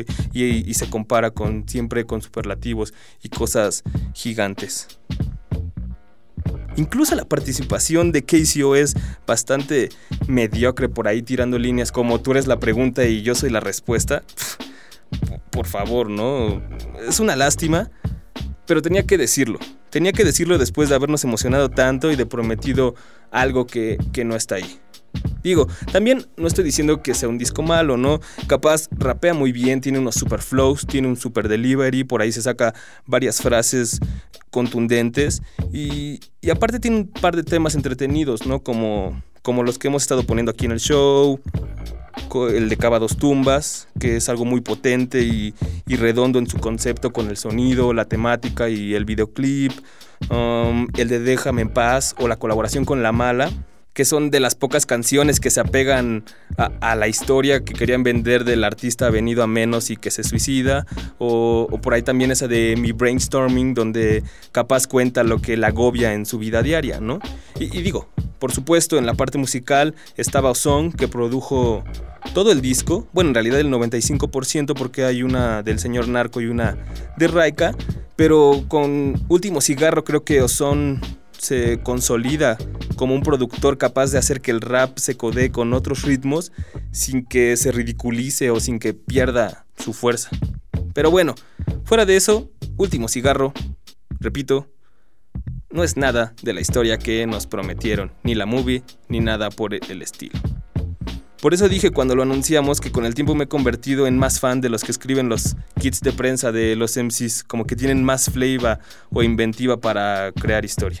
y se compara siempre con superlativos y cosas gigantes. Incluso la participación de KCO es bastante mediocre por ahí tirando líneas como tú eres la pregunta y yo soy la respuesta. Por favor, ¿no? Es una lástima, pero tenía que decirlo. Tenía que decirlo después de habernos emocionado tanto y de prometido algo que no está ahí. Digo, también no estoy diciendo que sea un disco malo, ¿no? Capaz rapea muy bien, tiene unos super flows, tiene un super delivery, por ahí se saca varias frases contundentes y aparte tiene un par de temas entretenidos, ¿no? Como los que hemos estado poniendo aquí en el show, el de Cava Dos Tumbas, que es algo muy potente y redondo en su concepto con el sonido, la temática y el videoclip, el de Déjame en Paz o la colaboración con La Mala, que son de las pocas canciones que se apegan a la historia que querían vender del artista venido a menos y que se suicida, o por ahí también esa de Mi Brainstorming, donde capaz cuenta lo que la agobia en su vida diaria, ¿no? Y digo, por supuesto, en la parte musical estaba Ozone, que produjo todo el disco, bueno, en realidad el 95% porque hay una del señor Narco y una de Raika, pero con Último Cigarro creo que Ozone se consolida como un productor capaz de hacer que el rap se codee con otros ritmos sin que se ridiculice o sin que pierda su fuerza. Pero bueno, fuera de eso, Último Cigarro, repito, no es nada de la historia que nos prometieron, ni la movie, ni nada por el estilo. Por eso dije cuando lo anunciamos que con el tiempo me he convertido en más fan de los que escriben los kits de prensa de los MCs, como que tienen más flavor o inventiva para crear historia.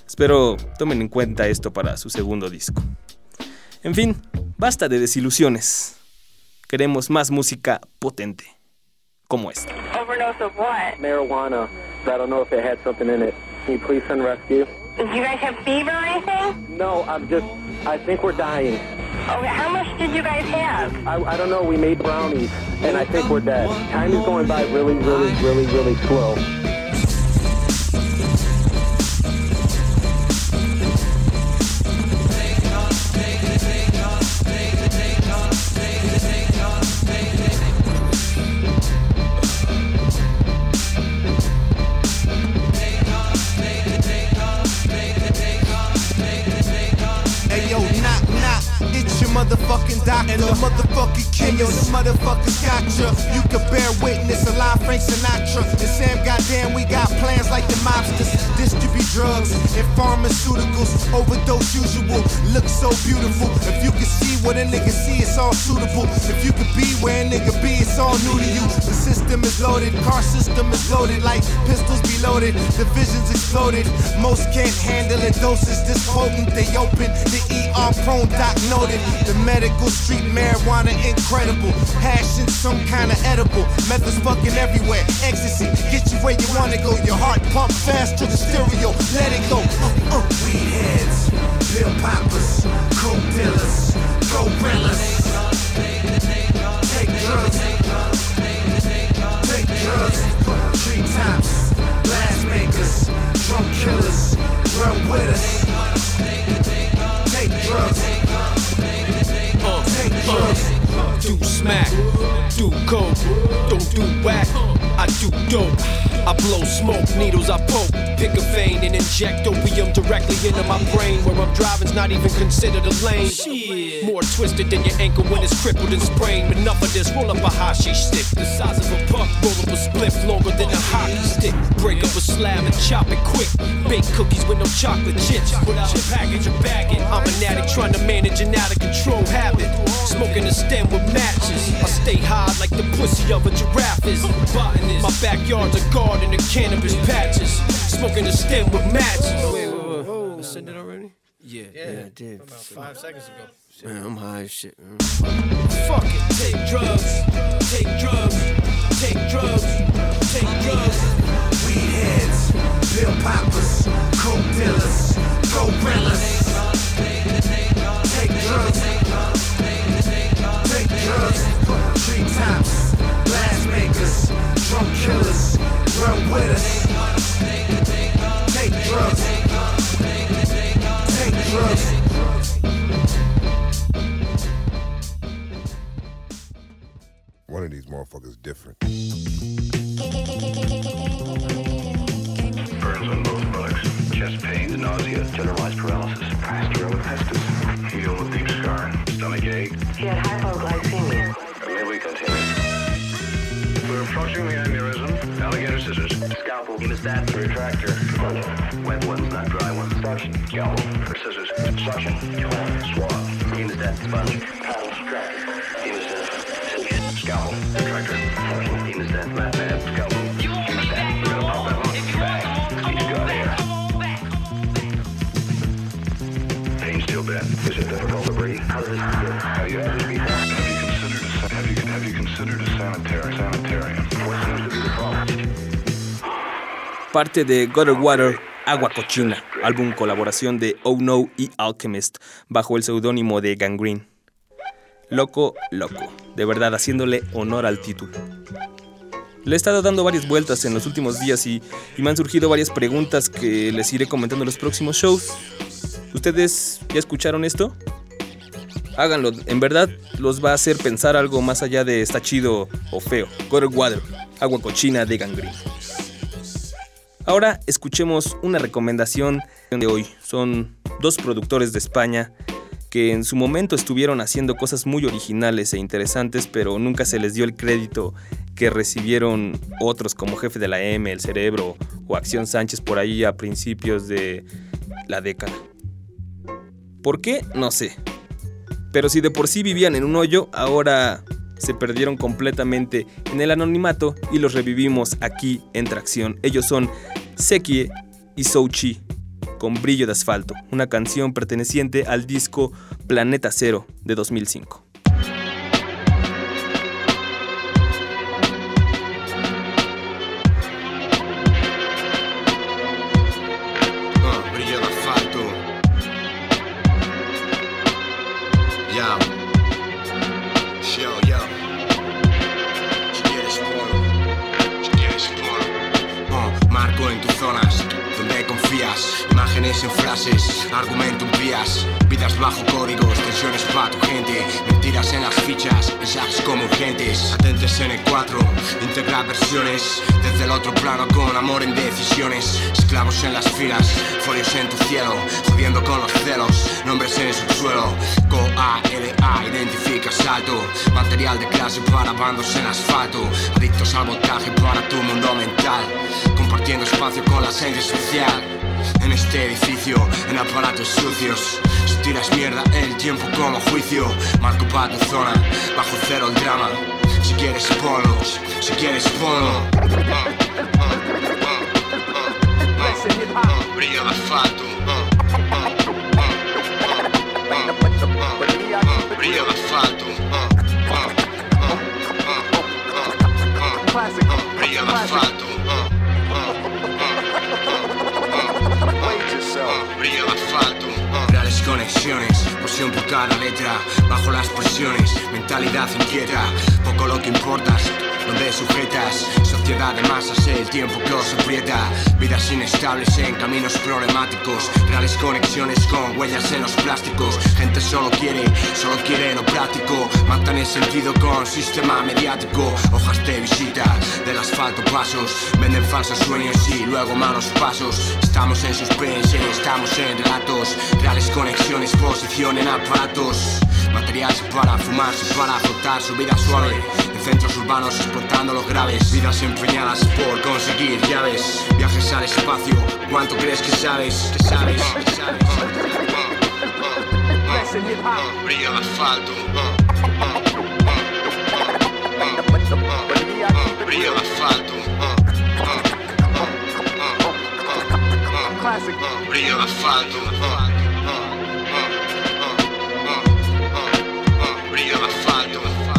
Espero tomen en cuenta esto para su segundo disco. En fin, basta de desilusiones. Queremos más música potente, como esta. Overdose of what? Marijuana. I don't know if it had something in it. Can you please send rescue? Do you guys have fever or anything? No, I think we're dying. Okay, how much did you guys have? I don't know, we made brownies, and I think we're dead. Time is going by really slow. Motherfucking doctor and the motherfucking king. Yo, the motherfuckers gotcha. You can bear witness, alive Frank Sinatra. And Sam, goddamn, we got plans like the mobsters. Distribute drugs and pharmaceuticals. Overdose usual, look so beautiful. If you can see what a nigga see, it's all suitable. If you could be where a nigga be, it's all new to you. The system is loaded, car system is loaded. Like pistols be loaded, the vision's exploded. Most can't handle it, doses this potent. They open, the ER prone doc noted. The medical street marijuana incredible. Hash in some kind of edible. Methods fucking everywhere. Ecstasy, get you where you wanna go. Your heart pump fast to the stereo. Let it go. Weed heads, pill poppers, coke dealers, gorillas. Take drugs. Take drugs. Tree tops, blast makers, drunk killers. Run with us. Take drugs. Do smack, do coke, don't do whack. I do dope, I blow smoke, needles I poke. Pick a vein and inject opium directly into my brain. Where I'm driving's not even considered a lane. Shit. More twisted than your ankle when it's crippled and sprained. Enough of this, roll up a hashish stick the size of a puck, roll up a spliff longer than a hockey stick. Break up a slab and chop it quick. Bake cookies with no chocolate chips. Without a package or bagging. I'm an addict trying to manage an out of control habit. Smoking a stem with matches. I stay high like the pussy of a giraffe is. Botanist. My backyard's a garden of cannabis patches. Smoking a stem with matches. Wait. I said that already? Yeah, I did. About 5 seconds ago. Man, I'm high as shit. Fuck it. Take drugs. Take drugs. Take drugs. Take drugs. Weed heads. Pill poppers. Coke dealers. Gorillas. Take drugs. Take drugs. Tree tops. Blast makers. Drunk killers. Run with us. Take drugs. Take drugs. One of these motherfuckers different. Burns on both buttocks. Chest pain, nausea, generalized paralysis. Pasteurelopestis. Heel with deep scarring. Stomach ache. He had hypoglycemia. May we continue? We're approaching the aneurysm. Alligator scissors. Scalpel. Hemostat. Retractor. Sponge. Wet ones, not dry ones. Suction. Scalpel. Scissors. Suction. Swab. Hemostat. Sponge. Paddle. Tractor. Hemostat. Scissors. Scalpel. Retractor. Suction. Hemostat. Mat pad. Scalpel. Hemostat. We're gonna pop that one. Back. Teach got air. Pain still bad. Is it difficult to breathe? How does this begin? Have you had this before? Have you considered a sanitarium? What seems to be the problem? Parte de Gutter Water, Agua Cochina, álbum colaboración de Oh No y Alchemist, bajo el seudónimo de Gangrene. Loco, de verdad haciéndole honor al título. Le he estado dando varias vueltas en los últimos días y me han surgido varias preguntas que les iré comentando en los próximos shows. ¿Ustedes ya escucharon esto? Háganlo, en verdad los va a hacer pensar algo más allá de está chido o feo. Gutter Water, Agua Cochina de Gangrene. Ahora escuchemos una recomendación de hoy. Son dos productores de España que en su momento estuvieron haciendo cosas muy originales e interesantes, pero nunca se les dio el crédito que recibieron otros como Jefe de la M, El Cerebro o Acción Sánchez por ahí a principios de la década. ¿Por qué? No sé. Pero si de por sí vivían en un hoyo, ahora se perdieron completamente en el anonimato y los revivimos aquí en Tracción. Ellos son Sekie y Souchi con Brillo de Asfalto, una canción perteneciente al disco Planeta Cero de 2005. Brillo de asfalto. Yo. Yo. Si quieres polo. Marco en tus zonas donde confías. Imágenes en frases, argumento en vías. Vidas bajo códigos, tensiones pa' tu gente. Mentiras en las fichas, mensajes como urgentes. Atentes en el 4, integrar versiones. Desde el otro plano con amor en decisiones. Esclavos en las filas, folios en tu cielo. Jodiendo con los celos, nombres en el subsuelo. COALA, identifica salto. Material de clase para bandos en asfalto. Adictos al voltaje para tu mundo mental. Compartiendo espacio con la esencia social. En este edificio, en aparatos sucios. Si tiras mierda, el tiempo como juicio. Marco pa' tu zona, bajo cero el drama. Si quieres ponlo, si quieres ponlo. Brillo de asfalto. Brillo de asfalto. Brillo de asfalto. Brillo de asfalto. Reales conexiones, pasión por cada letra. Bajo las presiones, mentalidad inquieta. Poco lo que importas, donde sujetas. Sociedad de masas, el tiempo que os aprieta. Vidas inestables en caminos problemáticos. Reales conexiones con huellas en los plásticos. Gente solo quiere lo práctico. Matan el sentido con sistema mediático. Hojas de visita, del asfalto pasos. Venden falsos sueños y luego malos pasos. Estamos en suspense, estamos en relatos. Reales conexiones, posición en aparatos. Materiales para fumarse, para flotar su vida suave. En centros urbanos explotando los graves. Vidas empeñadas por conseguir llaves. Viajes al espacio, ¿cuánto crees que sabes? ¿Qué sabes? Brillo de asfalto. Brillo de asfalto. Brillo de asfalto. Brillo de asfalto.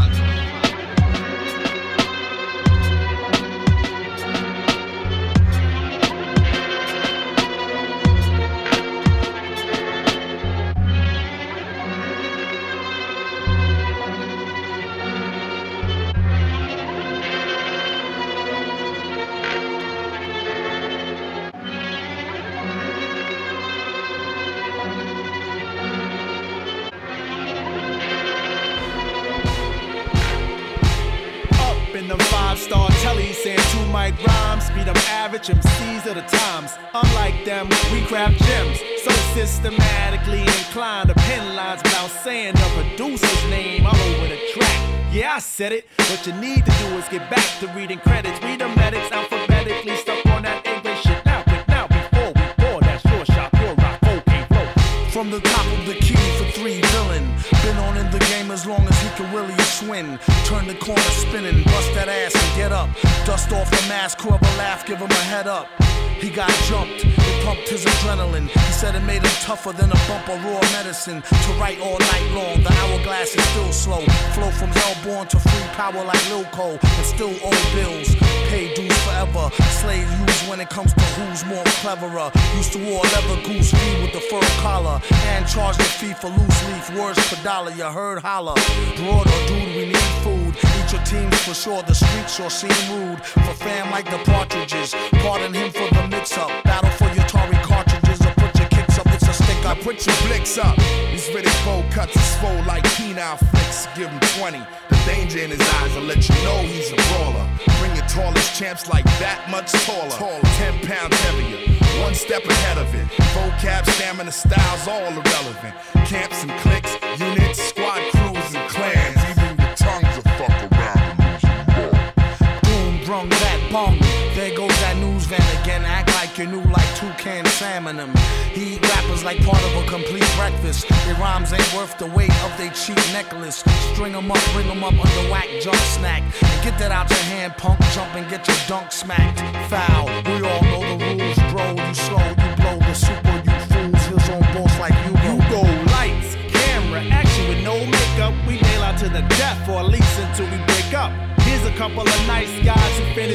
In them 5-star tellies saying 2 mic rhymes, be them average MCs of the times. Unlike them, we craft gems, so systematically inclined to pen lines without saying the producer's name all over the track. Yeah, I said it. What you need to do is get back to reading credits. Read the medics alphabetically, stuck on that English shit. Now, before we pour that short shot, pure rock, okay, flow. From the top of the key for 3 villain. Been on in the game as long as he can really swing. Turn the corner spinning, bust that ass and get up. Dust off the mask, whoever laugh, give him a head up. He got jumped, it pumped his adrenaline. He said it made him tougher than a bump of raw medicine. To write all night long, the hourglass is still slow. Flow from hellborn to free power like Lil Cole. And still owe bills, pay dues forever. Slave used when it comes to who's more cleverer. Used to wear leather goose fee with the fur collar. And charge the fee for loose leaf, words per dollar, you heard holler. Broad or dude, we need food. Eat your teams for sure, the streets sure seem rude. For fam like the Partridges, pardon him for the mix-up. Battle for your Atari cartridges or put your kicks up, it's a stick up. Put your blicks up. These Riddick bowl cuts is full like penile flicks. Give him 20. The danger in his eyes will let you know he's a brawler. Bring your tallest champs like that much taller. 10 pounds heavier. One step ahead of it. Vocab, stamina, styles, all irrelevant. Camps and cliques, units, squad crews and clans. Even your tongues will fuck around and lose your ball. Boom, brung that bong. There goes that news van again. Act like you're new like toucan salmon them. He eat rappers like part of a complete breakfast. Their rhymes ain't worth the weight of their cheap necklace. String them up, bring them up under whack junk snack. And get that out your hand, punk. Jump and get your dunk smacked. Foul, we all know the rules, bro. You slow, you blow the super, you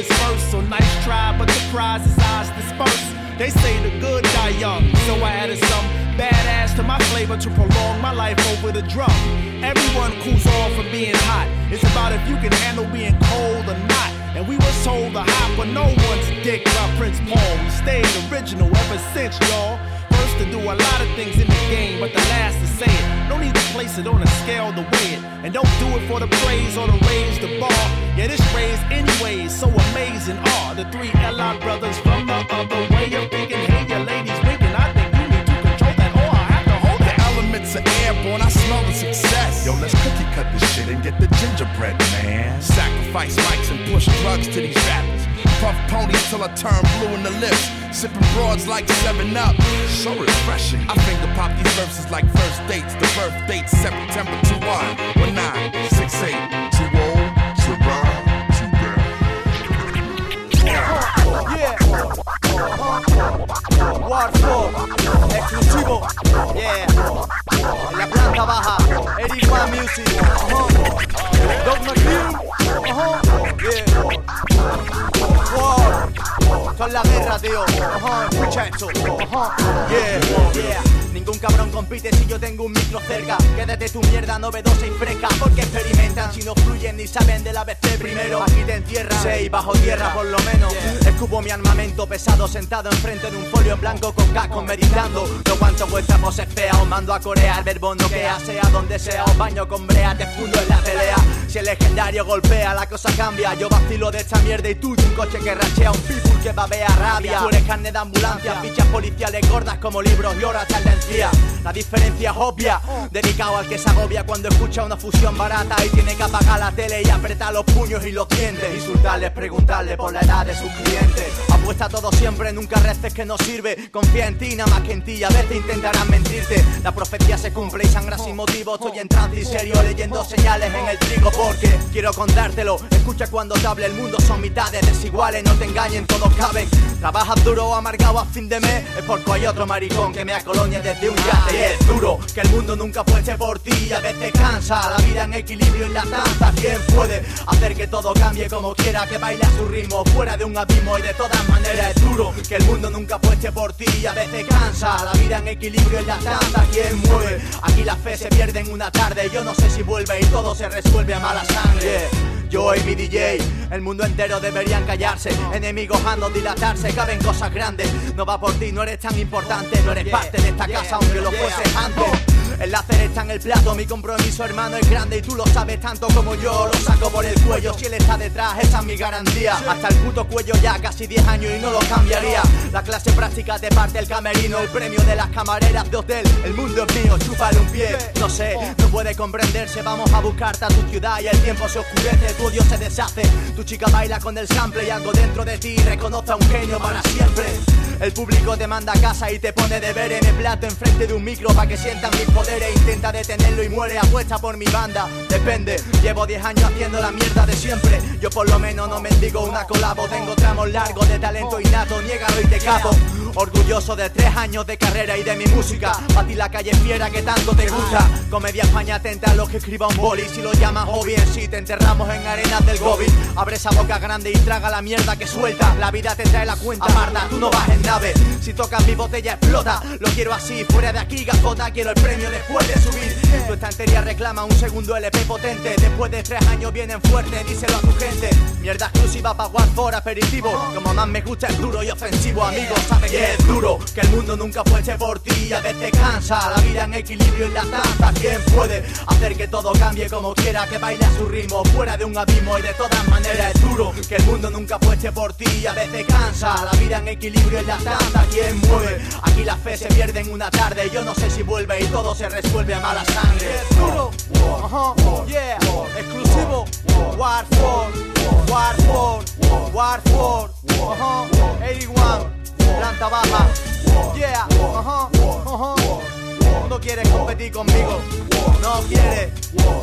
this verse, so nice try, but the prize is ours dispersed. They say the good die young, so I added some badass to my flavor to prolong my life over the drum. Everyone cools off from being hot. It's about if you can handle being cold or not. And we was told to hop on no one's dick by Prince Paul. We stayed original ever since, y'all. First to do a lot of things in the game, but the last to say it. No need to place it on a scale to weigh it. And don't do it for the praise or to raise the bar. Yeah, this raised anyways, so amazing are the three L.I. brothers from the other way of thinking. Hey, your ladies winking, I think you need to control that, or I have to hold that. The elements are airborne, I smell the success. Yo, let's cookie cut this shit and get the gingerbread, man. Sacrifice mics and push drugs to these rappers. Puff ponies till I turn blue in the lips. Sipping broads like 7-Up. So refreshing. I finger pop these verses like first dates. The birth date September 21 1968. Too old to ride, too bad. Warfare, exclusivo, yeah. En la planta baja, 81 Music, Dogma Crew, yeah. War, esto es la guerra, tío, escucha esto, yeah. Ningún cabrón compite si yo tengo un micro cerca. Quédate tu mierda novedosa y fresca, porque experimentan si no fluyen ni saben del ABC primero. Aquí te encierran, 6 bajo tierra por lo menos. Escupo mi armamento pesado sentado enfrente de un folio en blanco con casco meditando. No aguanto vuestra pose fea, os mando a corear, verbo noquea, sea donde sea, os baño con brea, te fundo en la pelea. Si el legendario golpea, la cosa cambia. Yo vacilo de esta mierda y tú de un coche que rachea, un people que babea rabia. Tú eres carne de ambulancia, fichas policiales gordas como libros y horas tendencia. La diferencia es obvia, dedicado al que se agobia cuando escucha una fusión barata y tiene que apagar la tele y apretar los puños y los dientes. Insultarles, preguntarles por la edad de sus clientes. Apuesta todo siempre, nunca reces que no sirve. Confía en ti, nada más que en ti, a veces intentarán mentirte. La profecía se cumple y sangra sin motivo. Estoy en trance y serio leyendo señales en el trigo porque quiero contártelo. Escucha cuando te hable, el mundo son mitades desiguales, no te engañen, todos caben. Trabajas duro o amargado a fin de mes, es porque hay otro maricón que me acolonia desde un yate. Y es duro que el mundo nunca fuese por ti, a veces cansa. La vida en equilibrio y la danza. ¿Quién puede hacer que todo cambie como quiera? Que baile a su ritmo, fuera de un abismo. Y de todas maneras es duro que el mundo nunca fuese por ti, a veces cansa. La vida en equilibrio y la danza. ¿Quién mueve? Aquí la fe se pierde en una tarde. Yo no sé si vuelve y todo se resuelve a mala sangre. Yo y mi DJ, el mundo entero deberían callarse. Enemigos a no dilatarse, caben cosas grandes. No va por ti, no eres tan importante. No eres parte de esta casa aunque lo fueses antes. El láser está en el plato, mi compromiso hermano es grande y tú lo sabes tanto como yo. Lo saco por el cuello, si él está detrás, esa es mi garantía. Hasta el puto cuello ya casi 10 años y no lo cambiaría. La clase práctica te parte el camerino, el premio de las camareras de hotel. El mundo es mío, chúpale un pie. No sé, no puede comprenderse, vamos a buscarte a tu ciudad y el tiempo se oscurece, tu odio se deshace. Tu chica baila con el sample y algo dentro de ti reconoce a un genio para siempre. El público te manda a casa y te pone deberes. Me plato enfrente de un micro pa' que sientan mis poderes. Intenta detenerlo y muere, apuesta por mi banda. Depende, llevo 10 años haciendo la mierda de siempre. Yo por lo menos no mendigo una colabo. Tengo tramos largos de talento innato, niégalo y te capo. Orgulloso de 3 años de carrera y de mi música. Pa' ti la calle fiera que tanto te gusta. Comedia España atenta a los que escriba un boli. Si lo llamas hobby en sí, te enterramos en arenas del Gobi. Abre esa boca grande y traga la mierda que suelta. La vida te trae la cuenta parda, tú no vas en nave. Si tocas mi botella explota. Lo quiero así, fuera de aquí gafota. Quiero el premio después de subir. Tu estantería reclama un segundo LP potente. Después de 3 años vienen fuertes, díselo a tu gente. Mierda exclusiva pa' Warfare aperitivo. Como más me gusta es duro y ofensivo, amigo. Sabes que es duro, que el mundo nunca fuese por ti. A veces cansa, la vida en equilibrio y la danza. ¿Quién puede hacer que todo cambie como quiera? Que baile a su ritmo, fuera de un abismo. Y de todas maneras es duro, que el mundo nunca fuese por ti. A veces cansa, la vida en equilibrio y la danza. ¿Quién mueve? Aquí la fe se pierde en una tarde. Yo no sé si vuelve y todo se resuelve a mala sangre. Es duro, yeah, exclusivo, Warfare, Warfare, Warfare, 81, planta baja, yeah, no quieres competir conmigo, no quiere,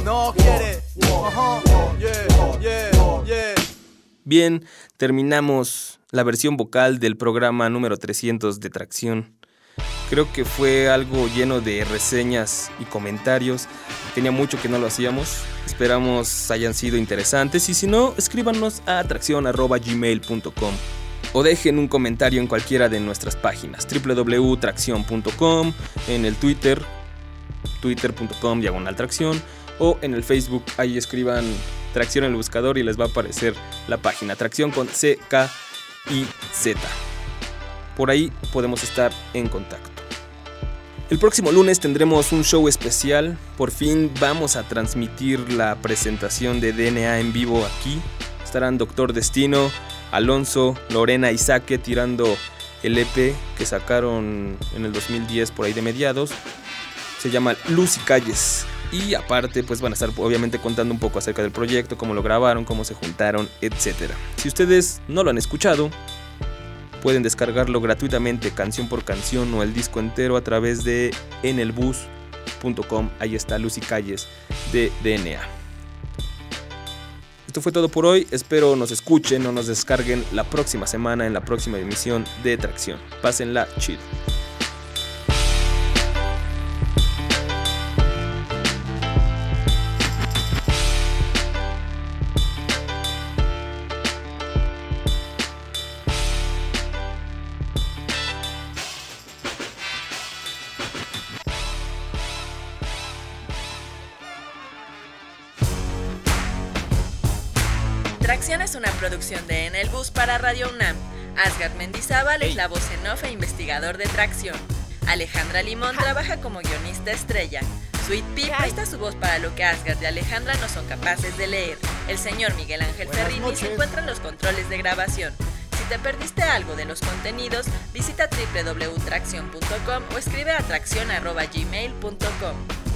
yeah. Bien, terminamos la versión vocal del programa número 300 de Tracción. Creo que fue algo lleno de reseñas y comentarios. Tenía mucho que no lo hacíamos. Esperamos hayan sido interesantes y si no, escríbanos a traccion@gmail.com o dejen un comentario en cualquiera de nuestras páginas www.traccion.com, en el Twitter, twitter.com/traccion o en el Facebook, ahí escriban Traccion en el buscador y les va a aparecer la página Traccion con C, K y Z. Por ahí podemos estar en contacto. El próximo lunes tendremos un show especial. Por fin vamos a transmitir la presentación de DNA en vivo aquí. Estarán Doctor Destino, Alonso, Lorena y Saque tirando el EP que sacaron en el 2010 por ahí de mediados. Se llama Luz y Calles. Y aparte pues van a estar obviamente contando un poco acerca del proyecto, cómo lo grabaron, cómo se juntaron, etc. Si ustedes no lo han escuchado, pueden descargarlo gratuitamente canción por canción o el disco entero a través de enelbus.com. Ahí está Luz y Calles de DNA. Esto fue todo por hoy. Espero nos escuchen o nos descarguen la próxima semana en la próxima emisión de Traccion. Pásenla chido. Traccion es una producción de En el Bus para Radio UNAM. Asgard Mendizábal es la voz en off e investigador de Traccion. Alejandra Limón trabaja como guionista estrella. Sweet Pea presta su voz para lo que Asgard y Alejandra no son capaces de leer. El señor Miguel Ángel Ferrini se encuentra en los controles de grabación. Si te perdiste algo de los contenidos, visita www.traccion.com o escribe a traccion@gmail.com.